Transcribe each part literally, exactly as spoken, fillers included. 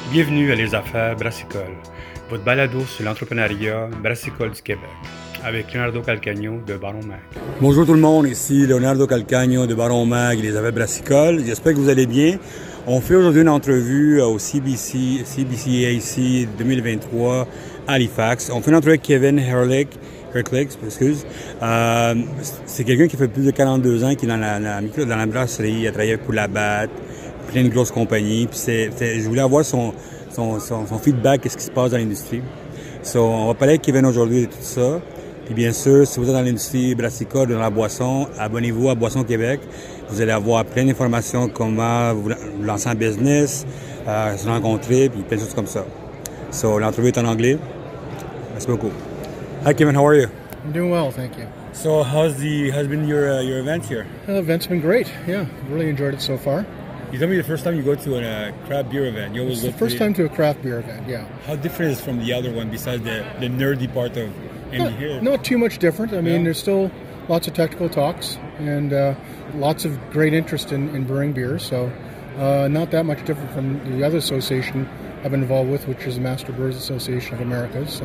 Bienvenue à Les Affaires Brassicole, votre balado sur l'entrepreneuriat brassicole du Québec, avec Leonardo Calcagno de Baron Mag. Bonjour tout le monde, ici Leonardo Calcagno de Baron Mag et Les Affaires Brassicole. J'espère que vous allez bien. On fait aujourd'hui une entrevue au C B C, C B C A C deux mille vingt-trois à Halifax. On fait une entrevue avec Kevin Herlick. Herlick, excuse. Euh, c'est quelqu'un qui fait plus de quarante-deux ans, qui est dans la, la, dans la brasserie, il a travaillé pour Labatt, plein de grosses compagnies. Puis c'est, c'est, je voulais avoir son, son, son, son feedback, qu'est-ce qui se passe dans l'industrie. So, on va parler avec Kevin aujourd'hui de tout ça. Puis bien sûr, si vous êtes dans l'industrie brassicole, dans la boisson, abonnez-vous à Boisson Québec. Vous allez avoir plein d'informations comment vous lancer en business, euh, se rencontrer, puis plein de choses comme ça. So, l'entrevue est en anglais. Merci beaucoup. Hi Kevin, how are you? I'm doing well, thank you. So, how's the how's been your uh, your event here? The uh, event's been great. Yeah, really enjoyed it so far. You told me the first time you go to a uh, craft beer event. You always It's go the first to the, time to a craft beer event. Yeah. How different is it from the other one besides the, the nerdy part of Andy Not, here? not too much different. I mean, Yeah. there's still lots of technical talks and uh, lots of great interest in, in brewing beer. So, uh, not that much different from the other association I've been involved with, which is the Master Brewers Association of America. So,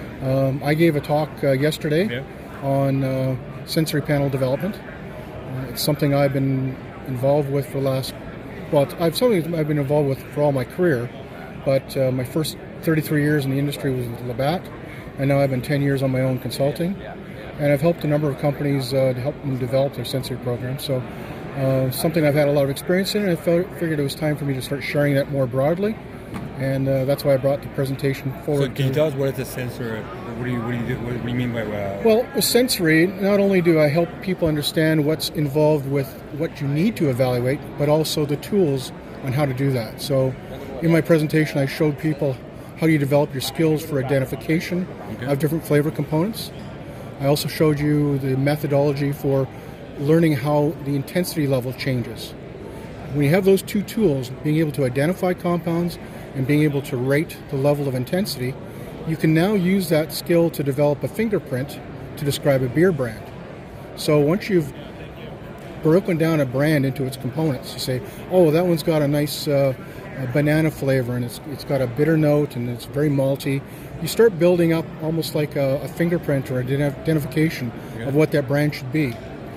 um, I gave a talk uh, yesterday Yeah. on uh, sensory panel development. Uh, it's something I've been involved with for the last. Well, it's, I've something I've been involved with for all my career, but uh, my first thirty-three years in the industry was with Labatt, and now I've been ten years on my own consulting, and I've helped a number of companies uh, to help them develop their sensory programs. So, uh, something I've had a lot of experience in, and I felt, figured it was time for me to start sharing that more broadly, and uh, that's why I brought the presentation forward. So can you to- tell us what is a sensor? What do you what do you do, what do you mean by uh, Well, with sensory, not only do I help people understand what's involved with what you need to evaluate, but also the tools on how to do that. So, in my presentation, I showed people how you develop your skills for identification Okay. of different flavor components. I also showed you the methodology for learning how the intensity level changes. When you have those two tools, being able to identify compounds and being able to rate the level of intensity, you can now use that skill to develop a fingerprint to describe a beer brand. So once you've broken down a brand into its components, you say, oh, that one's got a nice uh, a banana flavor and it's it's got a bitter note and it's very malty. You start building up almost like a, a fingerprint or an identification Yeah. of what that brand should be.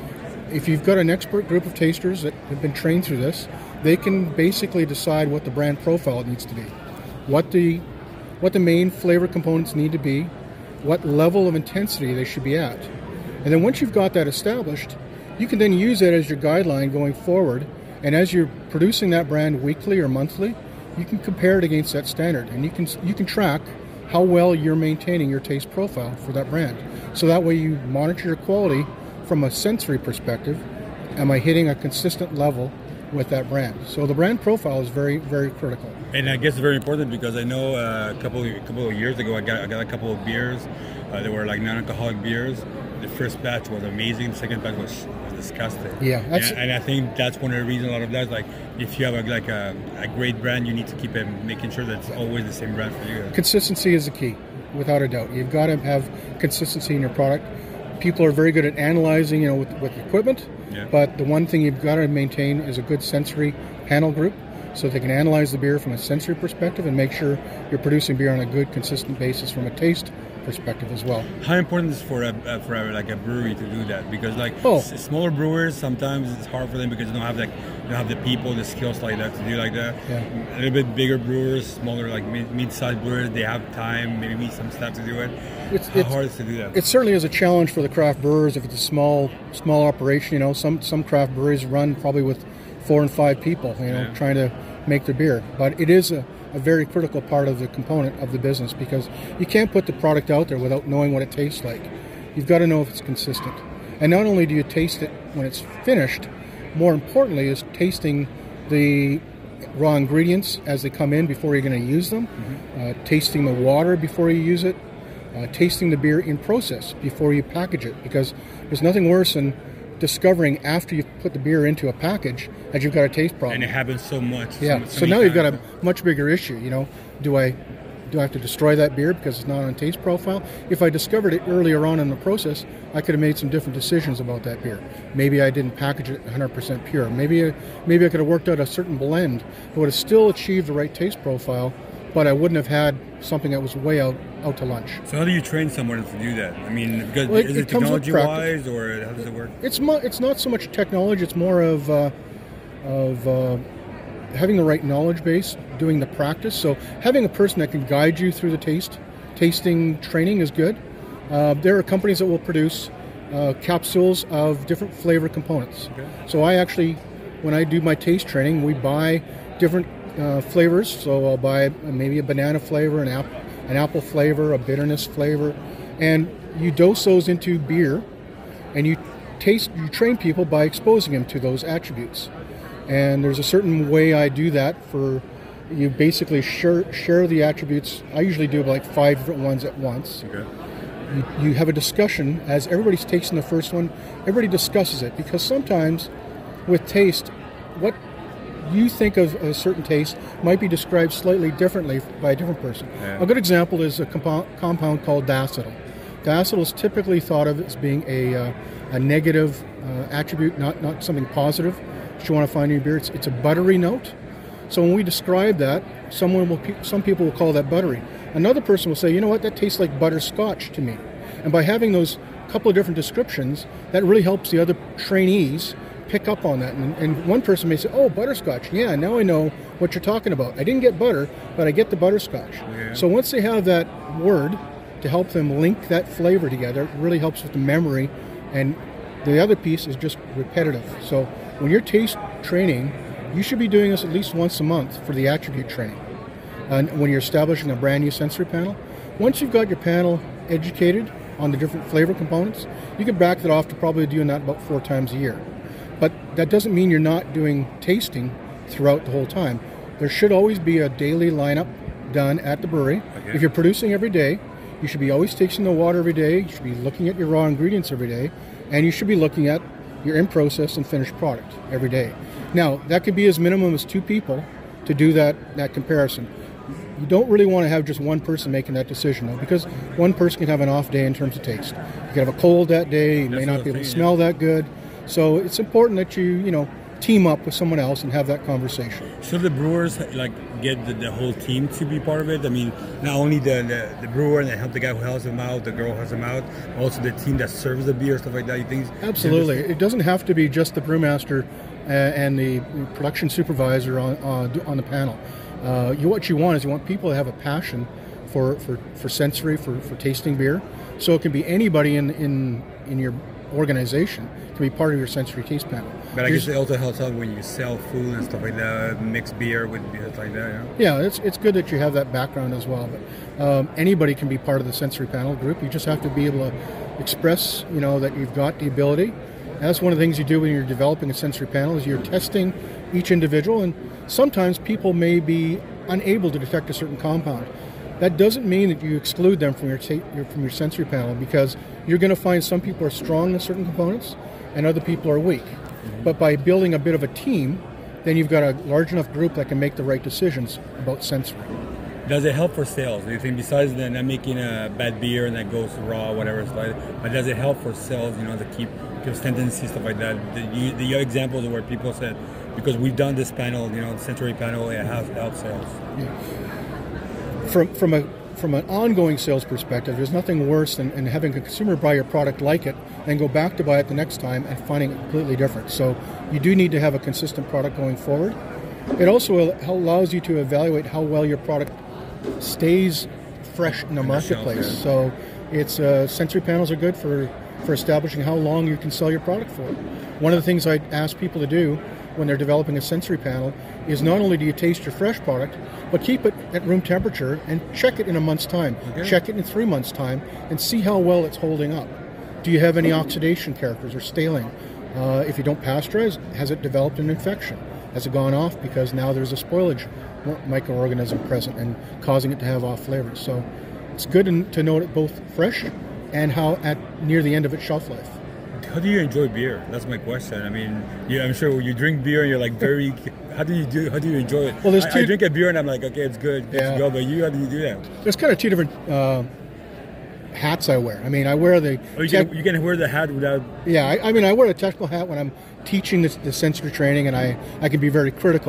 If you've got an expert group of tasters that have been trained through this, they can basically decide what the brand profile needs to be, what the what the main flavor components need to be, what level of intensity they should be at. And then once you've got that established, you can then use that as your guideline going forward. And as you're producing that brand weekly or monthly, you can compare it against that standard, and you can you can track how well you're maintaining your taste profile for that brand. So that way you monitor your quality from a sensory perspective. Am I hitting a consistent level with that brand? So the brand profile is very, very critical. And I guess it's very important because I know uh, a couple a couple of years ago I got I got a couple of beers. Uh, they were like non-alcoholic beers. The first batch was amazing. The second batch was, was disgusting. Yeah, that's- and, and I think that's one of the reasons a lot of that is like if you have a, like a, a great brand, you need to keep it, making sure that it's always the same brand for you. Consistency is the key, without a doubt. You've got to have consistency in your product. People are very good at analyzing, you know, with, with equipment, Yeah. but the one thing you've got to maintain is a good sensory panel group, so they can analyze the beer from a sensory perspective and make sure you're producing beer on a good, consistent basis from a taste perspective as well. How important is for a uh, for a, like a brewery to do that? Because like Oh. s- smaller brewers, sometimes it's hard for them because they don't have like they don't have the people, the skills like that to do like that. Yeah. A little bit bigger brewers, smaller like mid, mid-sized brewers, they have time, maybe some staff to do it. It's- How it's- hard is it to do that? It certainly is a challenge for the craft brewers if it's a small small operation. You know, some some craft breweries run probably with four and five people, you know, Yeah. trying to make their beer. But it is a, a very critical part of the component of the business because you can't put the product out there without knowing what it tastes like. You've got to know if it's consistent. And not only do you taste it when it's finished, more importantly is tasting the raw ingredients as they come in before you're going to use them, uh, tasting the water before you use it, uh, tasting the beer in process before you package it, because there's nothing worse than discovering after you've put the beer into a package that you've got a taste problem. And it happens so much. Yeah. So, so So many now you've got times. a much bigger issue. You know, do I do I have to destroy that beer because it's not on taste profile? If I discovered it earlier on in the process, I could have made some different decisions about that beer. Maybe I didn't package it one hundred percent pure. Maybe I, maybe I could have worked out a certain blend that would have still achieved the right taste profile, but I wouldn't have had something that was way out, out to lunch. So how do you train someone to do that? I mean, because Well, it- is it it comes with technology-wise, or how does it work? It's mo- it's not so much technology; it's more of uh, of uh, having the right knowledge base, doing the practice. So having a person that can guide you through the taste tasting training is good. Uh, there are companies that will produce uh, capsules of different flavor components. Okay. So I actually, when I do my taste training, we buy different uh, flavors. So I'll buy maybe a banana flavor, an apple, an apple flavor, a bitterness flavor, and you dose those into beer, and you taste. You train people by exposing them to those attributes. And there's a certain way I do that. For you basically share share the attributes. I usually do like five different ones at once. Okay. You, you have a discussion as everybody's tasting the first one. Everybody discusses it, because sometimes with taste, what you think of a certain taste might be described slightly differently by a different person. Yeah. A good example is a compound, compound called diacetyl. Diacetyl is typically thought of as being a, uh, a negative uh, attribute, not, not something positive that you want to find in your beer. It's, it's a buttery note. So when we describe that, someone will, some people will call that buttery. Another person will say, you know what, that tastes like butterscotch to me. And by having those couple of different descriptions, that really helps the other trainees pick up on that. And, and one person may say, oh, butterscotch. Yeah, now I know what you're talking about. I didn't get butter, but I get the butterscotch. Yeah. So once they have that word to help them link that flavor together, it really helps with the memory. And the other piece is just repetitive. So when you're taste training, you should be doing this at least once a month for the attribute training. And when you're establishing a brand new sensory panel, once you've got your panel educated on the different flavor components, you can back that off to probably doing that about four times a year. But that doesn't mean you're not doing tasting throughout the whole time. There should always be a daily lineup done at the brewery. Okay. If you're producing every day, you should be always tasting the water every day. You should be looking at your raw ingredients every day. And you should be looking at your in-process and finished product every day. Now, that could be as minimum as two people to do that, that comparison. You don't really want to have just one person making that decision, though, because one person can have an off day in terms of taste. You could have a cold that day, you may That's not what be I'm able to saying, smell that good. So it's important that you, you know, team up with someone else and have that conversation. Should the brewers like get the, the whole team to be part of it? I mean, not only the, the, the brewer and help the guy who helps them out, the girl who helps them out, also the team that serves the beer, stuff like that. You think? Absolutely. It doesn't have to be just the brewmaster uh, and the production supervisor on on, on the panel. Uh, you, what you want is you want people to have a passion for, for, for sensory, for, for tasting beer. So it can be anybody in, in, in your organization can be part of your sensory taste panel. But I You're guess it also helps out when you sell food and stuff like that, mix beer with beer, stuff like that. Yeah, it's it's good that you have that background as well. But um, anybody can be part of the sensory panel group. You just have to be able to express, you know, that you've got the ability. And that's one of the things you do when you're developing a sensory panel is you're testing each individual, and sometimes people may be unable to detect a certain compound. That doesn't mean that you exclude them from your, ta- your from your sensory panel, because you're going to find some people are strong in certain components and other people are weak. Mm-hmm. But by building a bit of a team, then you've got a large enough group that can make the right decisions about sensory. Does it help for sales? Do you think, besides the, not making a bad beer and that goes raw, whatever it's like, but does it help for sales, you know, to keep consistency, stuff like that? The, you, the examples where people said, because we've done this panel, you know, sensory panel, it has helped sales. Yeah. From from a from an ongoing sales perspective, there's nothing worse than, than having a consumer buy your product, like it, and go back to buy it the next time and finding it completely different. So you do need to have a consistent product going forward. It also allows you to evaluate how well your product stays fresh in the In the marketplace. shelf, yeah. So it's uh, sensory panels are good for, for establishing how long you can sell your product for. One of the things I ask people to do when they're developing a sensory panel is not only do you taste your fresh product, but keep it at room temperature and check it in a month's time. Okay. Check it in three months' time and see how well it's holding up. Do you have any oxidation characters or staling? Uh, if you don't pasteurize, has it developed an infection? Has it gone off because now there's a spoilage microorganism present and causing it to have off flavors? So it's good to note it both fresh and how at near the end of its shelf life. How do you enjoy beer? That's my question. I mean, yeah, I'm sure you drink beer and you're like very. How do you do? How do you enjoy it? Well, there's I, two, I drink a beer and I'm like, okay, it's good, good Yeah. to go. But you, how do you do that? There's kind of two different uh, hats I wear. I mean, I wear the Oh, you tech- can, you can wear the hat without. yeah. I, I mean, I wear a technical hat when I'm teaching this, the sensory training, and I I can be very critical.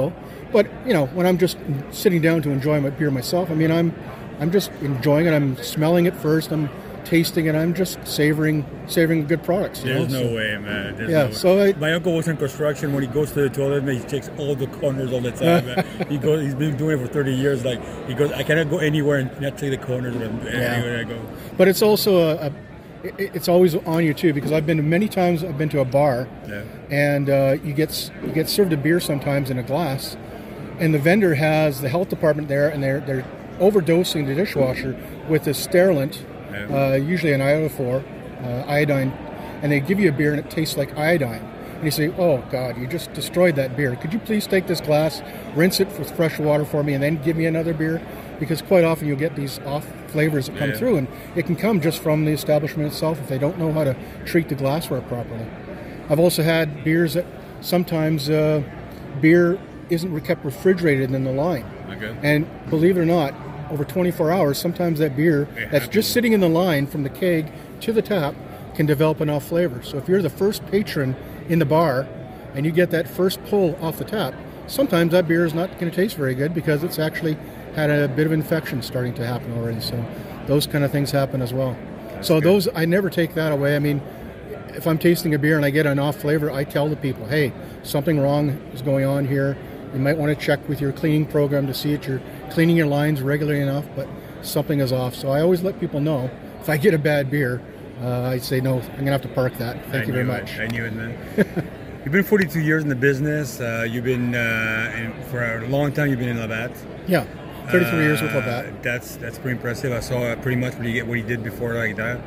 But you know, when I'm just sitting down to enjoy my beer myself, I mean, I'm I'm just enjoying it. I'm smelling it first. I'm tasting it. I'm just savoring savoring good products. You There's know? no so, way, man. There's yeah. no way. So I, My uncle was in construction. When he goes to the toilet, man, he checks all the corners all the time. Man. He goes. He's been doing it for thirty years. Like he goes, I cannot go anywhere and not check the corners when I'm, Yeah. anywhere I go. but it's also a, a it- it's always on you too, because I've been to many times. I've been to a bar, Yeah. and uh, you get s- you get served a beer sometimes in a glass, and the vendor has the health department there, and they're they're overdosing the dishwasher with this sterilant, Yeah. uh, usually an iodophor, uh, iodine, and they give you a beer and it tastes like iodine. And you say, "Oh God, you just destroyed that beer. Could you please take this glass, rinse it with fresh water for me, and then give me another beer?" Because quite often you'll get these off flavors that come Yeah. through, and it can come just from the establishment itself if they don't know how to treat the glassware properly. I've also had beers that sometimes uh, beer isn't kept refrigerated in the line. Okay. And believe it or not, over twenty-four hours, sometimes that beer It that's happens. just sitting in the line from the keg to the tap can develop an off flavor. So if you're the first patron in the bar and you get that first pull off the tap, sometimes that beer is not going to taste very good because it's actually had a bit of infection starting to happen already. So those kind of things happen as well. so good. those, I never take that away. I mean, if I'm tasting a beer and I get an off flavor, I tell the people, hey, something wrong is going on here. You might want to check with your cleaning program to see that you're cleaning your lines regularly enough, but something is off. So I always let people know if I get a bad beer, uh, I say, no, I'm going to have to park that. Thank I you very knew much. It. I knew it, man. You've been forty-two years in the business. Uh, you've been, uh, in, for a long time, you've been in Labatt. Yeah, thirty-three years with Uh, Labatt. That's that's pretty impressive. I saw uh, pretty much what he, get, what he did before like that.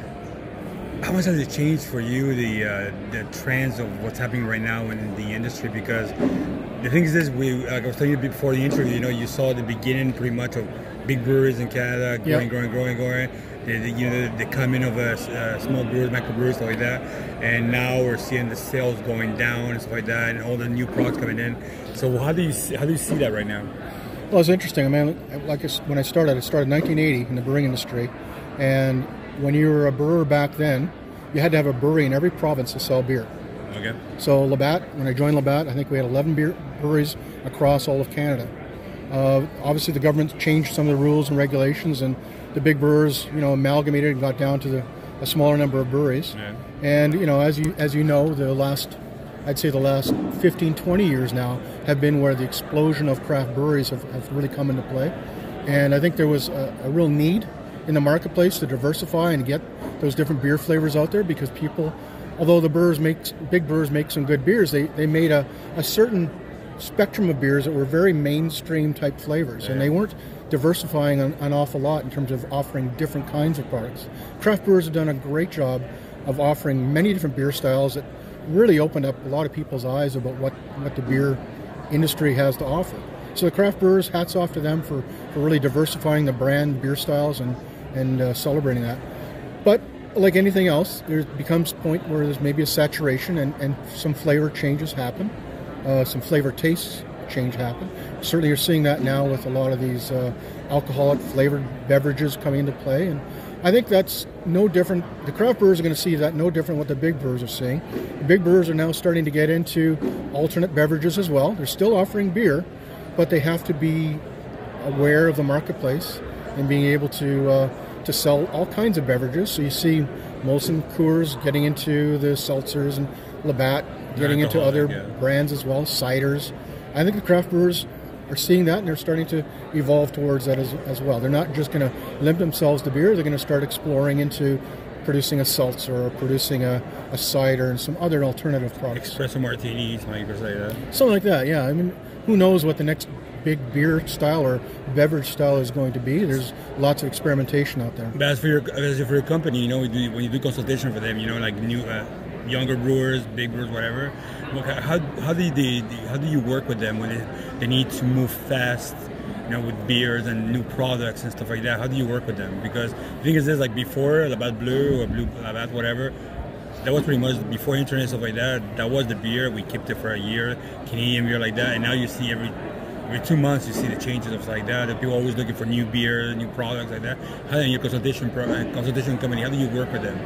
How much has it changed for you, the uh, the trends of what's happening right now in the industry? Because the thing is this, we like I was telling you before the interview, you know, you saw the beginning pretty much of big breweries in Canada growing, Yep. growing, growing, growing. The, the, you know, the coming of a uh, small brewers, microbreweries, stuff like that. And now we're seeing the sales going down and stuff like that, and all the new products coming in. So how do you see, how do you see that right now? Well, it's interesting. I mean, like I s- when I started, I started in nineteen eighty in the brewing industry, and when you were a brewer back then, you had to have a brewery in every province to sell beer. Okay. So Labatt, when I joined Labatt, I think we had eleven beer breweries across all of Canada. Uh, obviously, the government changed some of the rules and regulations, and the big brewers, you know, amalgamated and got down to the, a smaller number of breweries. Yeah. And you know, as you as you know, the last, I'd say the last fifteen, twenty years now have been where the explosion of craft breweries have, have really come into play. And I think there was a, a real need in the marketplace to diversify and get those different beer flavors out there, because people, although the brewers make, big brewers make some good beers, they, they made a, a certain spectrum of beers that were very mainstream type flavors, and they weren't diversifying an, an awful lot in terms of offering different kinds of products. Craft brewers have done a great job of offering many different beer styles that really opened up a lot of people's eyes about what, what the beer industry has to offer. So the craft brewers, hats off to them for, for really diversifying the brand beer styles and, and uh, celebrating that. But like anything else, there becomes a point where there's maybe a saturation and, and some flavor changes happen. Uh, some flavor tastes change happen. Certainly you're seeing that now with a lot of these uh, alcoholic flavored beverages coming into play. And I think that's no different. The craft brewers are going to see that no different what the big brewers are seeing. The big brewers are now starting to get into alternate beverages as well. They're still offering beer, but they have to be aware of the marketplace and being able to uh, to sell all kinds of beverages. So you see Molson Coors getting into the seltzers, and Labatt getting into other Alcoholic, yeah. brands as well, ciders. I think the craft brewers are seeing that, and they're starting to evolve towards that as, as well. They're not just going to limit themselves to beer. They're going to start exploring into producing a seltzer or producing a, a cider and some other alternative products. Espresso martinis, like you say that. Something like that, yeah. I mean, who knows what the next big beer style or beverage style is going to be. There's lots of experimentation out there. But as for your as for your company, you know, when you do consultation for them, you know, like new uh, younger brewers, big brewers, whatever. How how do you how do you work with them when they, they need to move fast, you know, with beers and new products and stuff like that? How do you work with them? Because the thing is this, like before Labatt Bleu or Blue Labatt, whatever, that was pretty much before internet, stuff like that. That was the beer. We kept it for a year, Canadian beer like that, and now you see every every two months you see the changes of like that. People are always looking for new beer, new products like that. How in your consultation pro, consultation company, how do you work with them?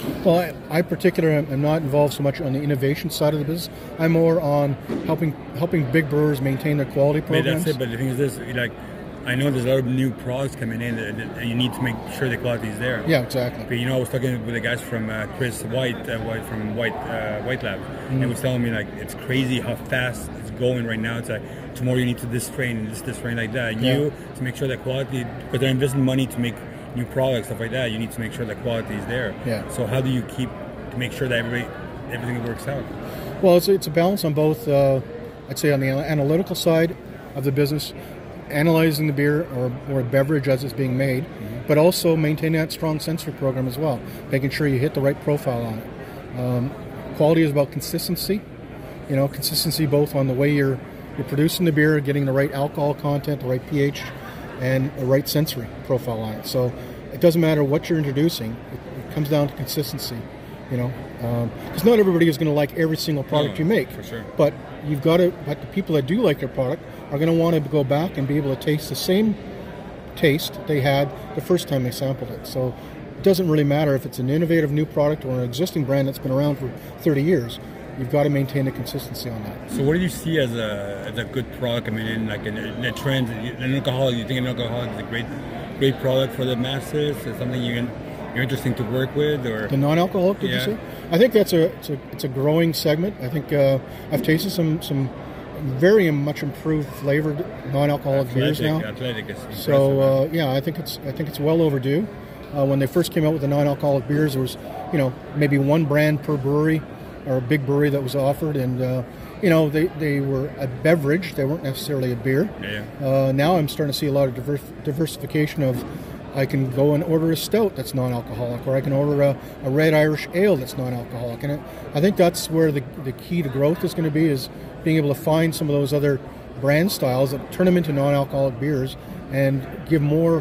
Well, I, I particularly am not involved so much on the innovation side of the business. I'm more on helping helping big brewers maintain their quality Maybe programs. that's it, but the thing is this, like, I know there's a lot of new products coming in, and and you need to make sure the quality is there. Yeah, exactly. But, you know, I was talking with the guys from uh, Chris White, uh, White from White uh, White Lab, Mm-hmm. and he was telling me, like, it's crazy how fast it's going right now. It's like, tomorrow you need to this strain, this, this strain like that. And Yeah. you, to make sure that quality, because they're investing money to make new products, stuff like that, you need to make sure that quality is there. Yeah. So how do you keep, to make sure that everybody, everything works out? Well, it's, it's a balance on both, uh, I'd say on the analytical side of the business, analyzing the beer or, or beverage as it's being made, mm-hmm. but also maintaining that strong sensory program as well, making sure you hit the right profile on it. Um, quality is about consistency, you know, consistency both on the way you're, you're producing the beer, getting the right alcohol content, the right pH, and the right sensory profile on it. So it doesn't matter what you're introducing, it, it comes down to consistency, you know, because um, not everybody is going to like every single product No, you make, for sure. but you've got to, but the people that do like your product are going to want to go back and be able to taste the same taste they had the first time they sampled it. So it doesn't really matter if it's an innovative new product or an existing brand that's been around for thirty years. You've got to maintain the consistency on that. So what do you see as a as a good product coming in, like in, in the trend? An alcoholic, you think an alcoholic is a great great product for the masses? Is something you can, you're interesting to work with, or the non-alcoholic? Did yeah. you say? I think that's a it's a it's a growing segment. I think uh, I've tasted some some very much improved flavored non-alcoholic beers now. Athletic is so uh, yeah, I think it's I think it's well overdue. Uh, when they first came out with the non-alcoholic beers, there was you know maybe one brand per brewery or a big brewery that was offered, and uh, you know they, they were a beverage. They weren't necessarily a beer. Yeah. Uh, now I'm starting to see a lot of diver- diversification of. I can go and order a stout that's non-alcoholic, or I can order a, a red Irish ale that's non-alcoholic, and it, I think that's where the the key to growth is going to be, is being able to find some of those other brand styles that turn them into non-alcoholic beers and give more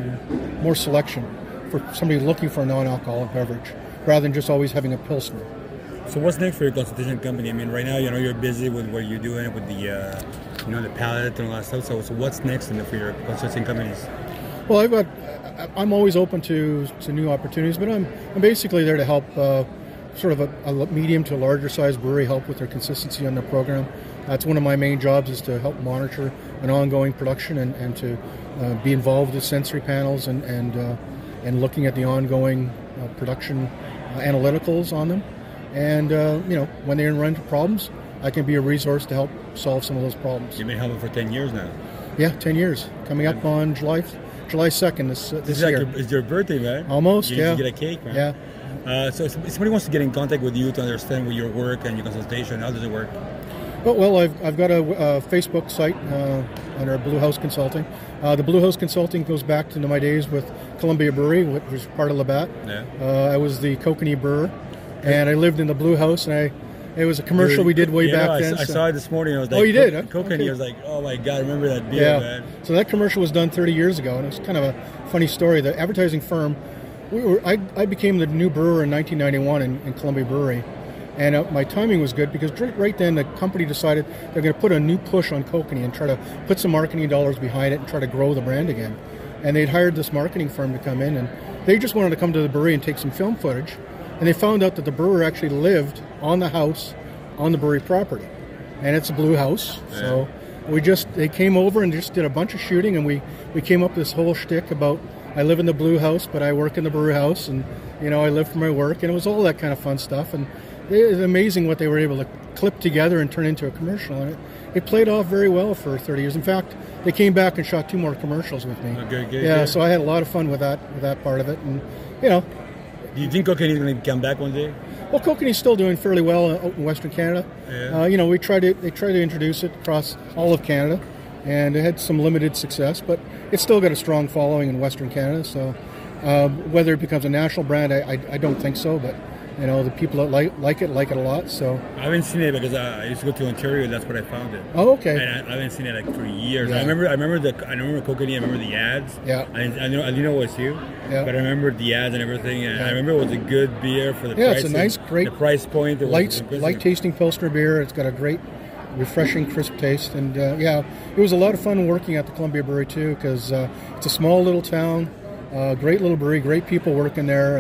um, more selection for somebody looking for a non-alcoholic beverage, rather than just always having a pilsner. So what's next for your consultation company? I mean, right now, you know, you're busy with what you're doing with the, uh, you know, the palette and all that stuff. So, so what's next in the, for your consulting companies? Well, I've got. I'm always open to, to new opportunities, but I'm I'm basically there to help uh, sort of a, a medium to larger size brewery help with their consistency on their program. That's one of my main jobs, is to help monitor an ongoing production and, and to uh, be involved with sensory panels and and uh, and looking at the ongoing uh, production uh, analyticals on them. And uh, you know, when they run into problems, I can be a resource to help solve some of those problems. You've been helping for ten years now. Yeah, ten years. Coming up on July July second this uh, this It's like year. your, it's your birthday, man. Almost, you yeah. You get a cake, man. Yeah. Uh, so if somebody wants to get in contact with you to understand what your work and your consultation, how does it work? Well, well I've, I've got a, a Facebook site uh, under Blue House Consulting. Uh, the Blue House Consulting goes back to my days with Columbia Brewery, which was part of Labatt. Yeah. Uh, I was the kokanee brewer, and I lived in the Blue House, and I it was a commercial we did way yeah, back no, I, then. I so. saw it this morning. I was like, Oh, you did, huh? Kokanee. Okay. I was like, oh my god, I remember that beer, Yeah. man. So that commercial was done thirty years ago, and it was kind of a funny story. The advertising firm, we were I, I became the new brewer in nineteen ninety-one in, in Columbia Brewery, and uh, my timing was good because right, right then the company decided they're going to put a new push on kokanee and try to put some marketing dollars behind it and try to grow the brand again. And they'd hired this marketing firm to come in, and they just wanted to come to the brewery and take some film footage, and they found out that the brewer actually lived on the house on the brewery property, and it's a Blue House. Yeah. So we just they came over and just did a bunch of shooting, and we we came up with this whole shtick about I live in the Blue House, but I work in the brew house, and you know I live for my work, and it was all that kind of fun stuff. And it was amazing what they were able to clip together and turn into a commercial, and it, it played off very well for thirty years. In fact, they came back and shot two more commercials with me. Oh, good, good, yeah, good. so I had a lot of fun with that with that part of it, and you know. Do you think Kokanee is going to come back one day? Well, kokanee's still doing fairly well out in Western Canada. Yeah. Uh, you know, we tried to they tried to introduce it across all of Canada, and it had some limited success, but it's still got a strong following in Western Canada. So, uh, whether it becomes a national brand, I, I I don't think so. But you know, the people that like like it like it a lot. So I haven't seen it because I, I used to go to Ontario, and that's where I found it. oh, okay. And I, I haven't seen it like for years. Yeah. I remember, I remember the, I remember Kokanee. I remember the ads. Yeah. I, I know, I didn't know it was you. Yeah. But I remember the ads and everything, and Yeah. I remember it was a good beer for the Yeah, price. it's a nice, great, the price point. It was light impressive. light tasting Pilsner beer. It's got a great, refreshing, crisp taste, and uh, yeah, it was a lot of fun working at the Columbia Brewery too, because uh, it's a small little town, uh, great little brewery, great people working there, and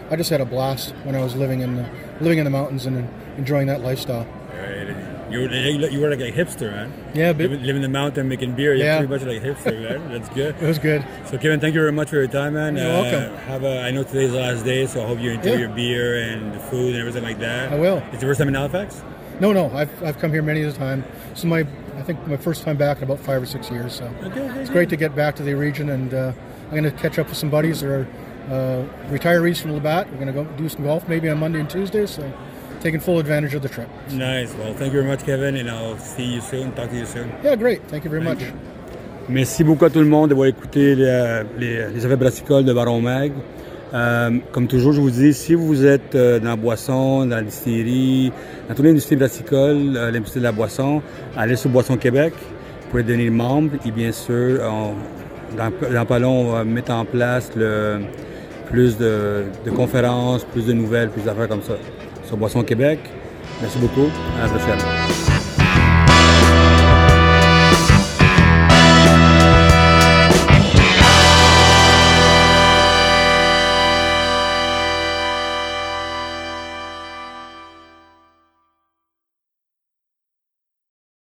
I just had a blast when I was living in the, living in the mountains and enjoying that lifestyle. Right. You were, you were like a hipster, man. Yeah, but, living, living in the mountain, making beer. You're yeah. pretty much like a hipster, man. That's good. It was good. So, Kevin, thank you very much for your time, man. You're uh, welcome. Have a, I know today's the last day, so I hope you enjoy Yeah. your beer and the food and everything like that. I will. It's your first time in Halifax? No, no, I've, I've come here many a time. This is my, I think, my first time back in about five or six years. So Okay, okay, it's great to get back to the region, and uh, I'm going to catch up with some buddies that are uh, retirees from Labatt. We're going to go do some golf maybe on Monday and Tuesday, so taking full advantage of the trip. Nice. Well, thank you very much, Kevin, and I'll see you soon. Talk to you soon. Yeah, great. Thank you very Thank much. you. Merci beaucoup à tout le monde d'avoir écouté les, les, les affaires brassicoles de Baron Mag. Euh, comme toujours, je vous dis, si vous êtes euh, dans la boisson, dans la distillerie, dans toute l'industrie brassicole, euh, l'industrie de la boisson, allez sur Boisson Québec, vous pouvez devenir membre et bien sûr, on, dans, dans pas long, on va mettre en place le, plus de, de conférences, plus de nouvelles, plus d'affaires comme ça sur Boisson Québec. Merci beaucoup, à la prochaine.